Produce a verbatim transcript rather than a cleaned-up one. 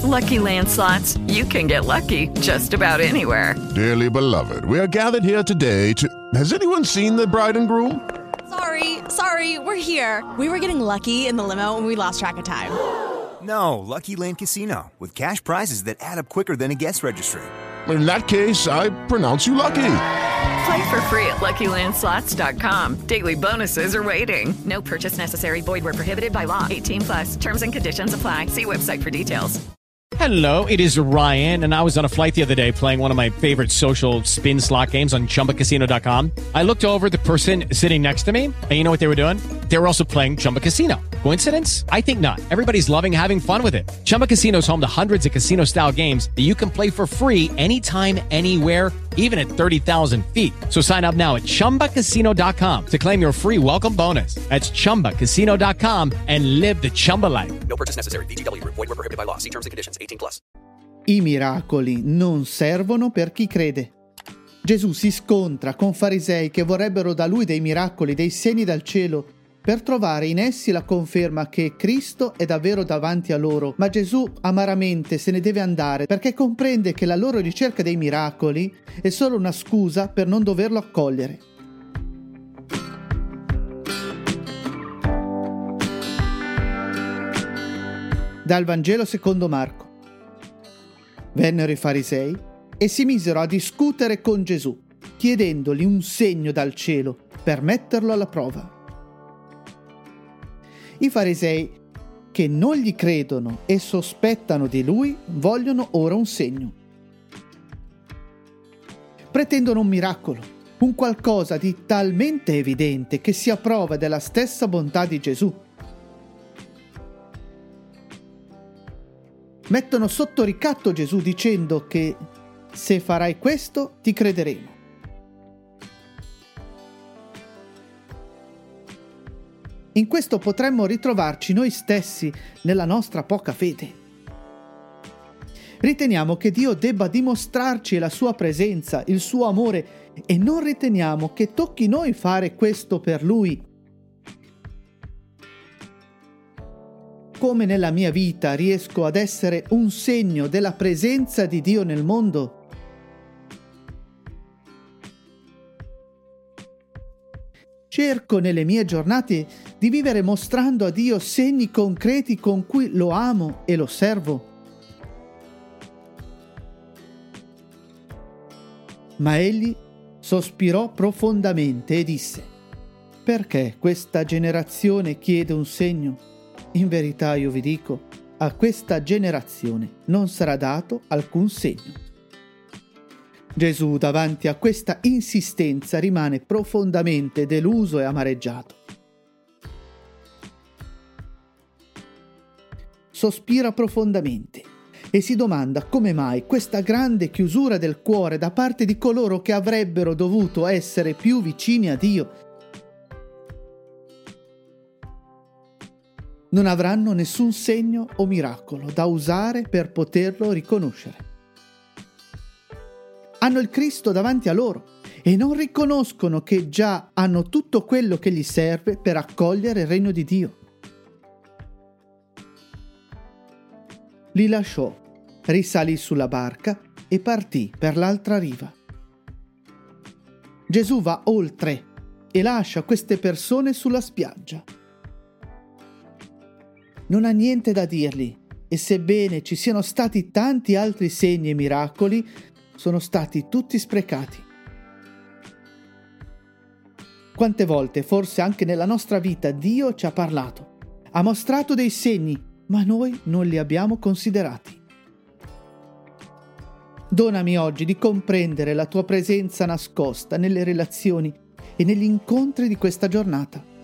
Lucky Land Slots, you can get lucky just about anywhere. Dearly beloved, we are gathered here today to... Has anyone seen the bride and groom? Sorry, sorry, we're here. We were getting lucky in the limo and we lost track of time. No, Lucky Land Casino, with cash prizes that add up quicker than a guest registry. In that case, I pronounce you lucky. Play for free at Lucky Land Slots dot com. Daily bonuses are waiting. No purchase necessary. Void where prohibited by law. eighteen plus. Terms and conditions apply. See website for details. Hello, it is Ryan, and I was on a flight the other day playing one of my favorite social spin slot games on Chumba Casino dot com. I looked over at the person sitting next to me, and you know what they were doing? They were also playing Chumba Casino. Coincidence? I think not. Everybody's loving having fun with it. Chumba Casino is home to hundreds of casino-style games that you can play for free anytime, anywhere, even at thirty thousand feet. So sign up now at Chumba Casino dot com to claim your free welcome bonus. That's Chumba Casino dot com and live the Chumba life. No purchase necessary. V G W. Void where prohibited by law. See terms and conditions. eighteen plus. I miracoli non servono per chi crede. Gesù si scontra con farisei che vorrebbero da lui dei miracoli, dei segni dal cielo, per trovare in essi la conferma che Cristo è davvero davanti a loro. Ma Gesù amaramente se ne deve andare perché comprende che la loro ricerca dei miracoli è solo una scusa per non doverlo accogliere. Dal Vangelo secondo Marco. Vennero i farisei e si misero a discutere con Gesù, chiedendogli un segno dal cielo per metterlo alla prova. I farisei, che non gli credono e sospettano di lui, vogliono ora un segno. Pretendono un miracolo, un qualcosa di talmente evidente che sia prova della stessa bontà di Gesù. Mettono sotto ricatto Gesù dicendo che se farai questo ti crederemo. In questo potremmo ritrovarci noi stessi nella nostra poca fede. Riteniamo che Dio debba dimostrarci la sua presenza, il suo amore, e non riteniamo che tocchi noi fare questo per Lui. Come nella mia vita riesco ad essere un segno della presenza di Dio nel mondo? Cerco nelle mie giornate di vivere mostrando a Dio segni concreti con cui lo amo e lo servo. Ma egli sospirò profondamente e disse: «Perché questa generazione chiede un segno? In verità io vi dico, a questa generazione non sarà dato alcun segno». Gesù, davanti a questa insistenza, rimane profondamente deluso e amareggiato. Sospira profondamente e si domanda come mai questa grande chiusura del cuore da parte di coloro che avrebbero dovuto essere più vicini a Dio. Non avranno nessun segno o miracolo da usare per poterlo riconoscere. Hanno il Cristo davanti a loro e non riconoscono che già hanno tutto quello che gli serve per accogliere il regno di Dio. Li lasciò, risalì sulla barca e partì per l'altra riva. Gesù va oltre e lascia queste persone sulla spiaggia. Non ha niente da dirgli e sebbene ci siano stati tanti altri segni e miracoli, sono stati tutti sprecati. Quante volte, forse anche nella nostra vita, Dio ci ha parlato, ha mostrato dei segni, ma noi non li abbiamo considerati. Donami oggi di comprendere la tua presenza nascosta nelle relazioni e negli incontri di questa giornata.